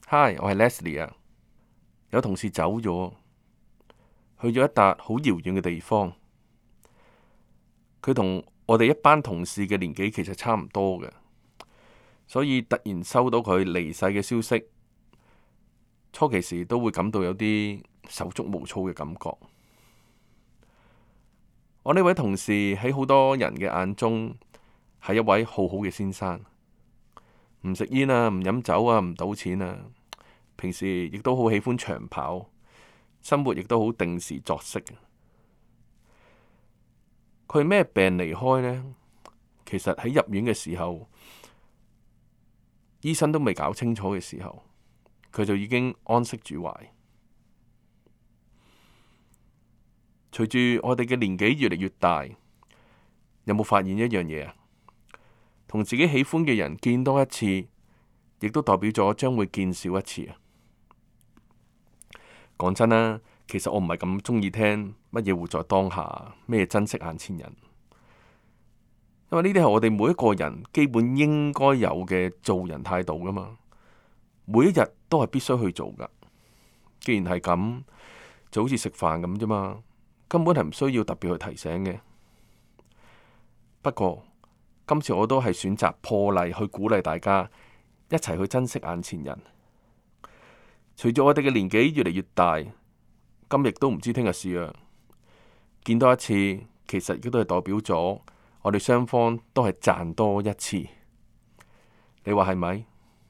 Hi，我係 Leslie 啊。有同事走咗，去咗一笪好遙遠嘅地方。佢同我哋一班同事嘅年紀其實差唔多嘅，所以突然收到佢離世嘅消息，初期時都會感到有啲手足無措嘅感覺。我呢位同事喺好多人嘅眼中係一位好好嘅先生，唔食煙啊，唔飲酒啊，唔賭錢啊。平時亦都好喜歡長跑，生活亦都好定時作息。佢係咩病離開呢？其實喺入院嘅時候，醫生都未搞清楚嘅時候，佢就已經安息主懷。隨住我哋嘅年紀越嚟越大，有冇發現一樣嘢啊？同自己喜歡嘅人見多一次，亦都代表咗將會見少一次啊！講真啦，其實我唔係咁中意聽乜嘢活在當下，咩珍惜眼前人，因為呢啲係我哋每一個人基本應該有嘅做人態度噶嘛。每一日都係必須去做噶。既然係咁，就好似食飯咁啫嘛，根本係唔需要特別去提醒嘅。不過今次我都係選擇破例去鼓勵大家一齊去珍惜眼前人。隨住我哋嘅年紀越嚟越大，今日都唔知聽日事啊！見多一次，其實亦都係代表咗我哋雙方都係賺多一次。你話係咪？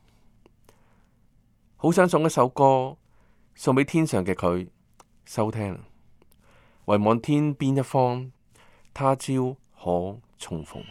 好想送一首歌送俾天上嘅佢收聽，唯望天邊一方，他朝可重逢。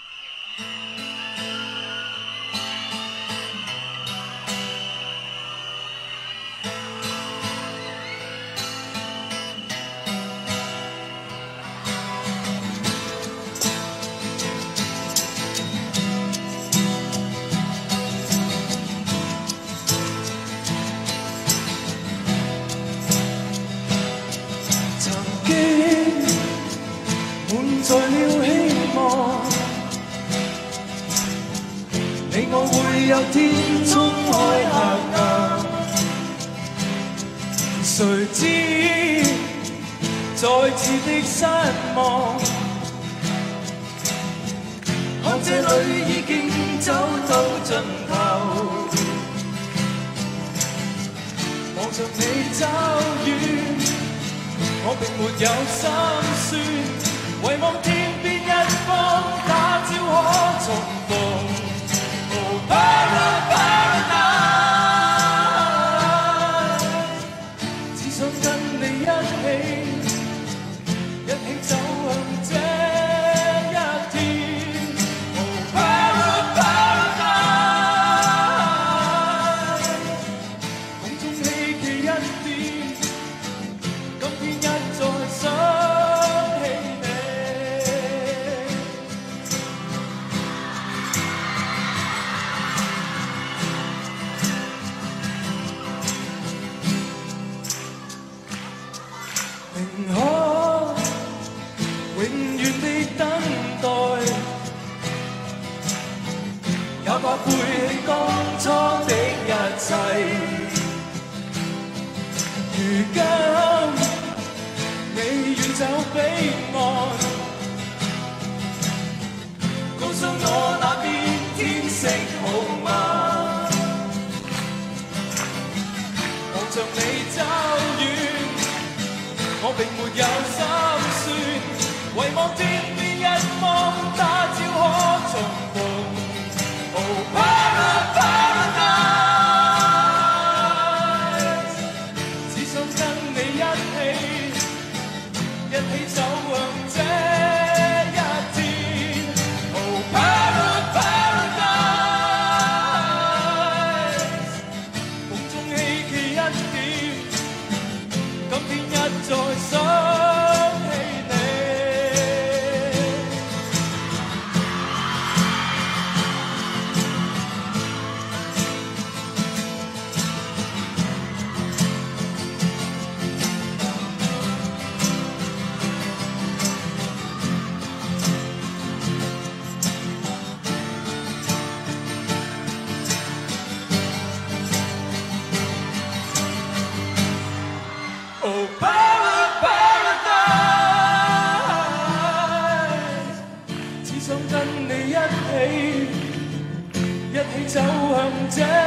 在了希望，你我會有天衝開黑暗。誰知再次的失望，看這裏已經走到盡頭，望着你走遠，我並沒有心酸。唯望天邊一方，他朝可重逢。Oh, paradise， 只想跟你一起走向這一天。Oh, paradise， 夢中希冀一點，今天一再想。怕背起當初的一切，如今你遠走彼岸，告訴我那邊天色好嗎？望着你走遠，我並沒有心酸，唯望天邊一方，他朝可重逢。Paradise， 只想跟你一起走向這一天。Oh, paradise， 夢中希冀一點，今天一再想起你。 這